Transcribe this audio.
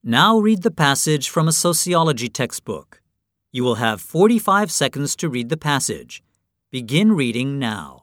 Now read the passage from a sociology textbook. You will have 45 seconds to read the passage. Begin reading now.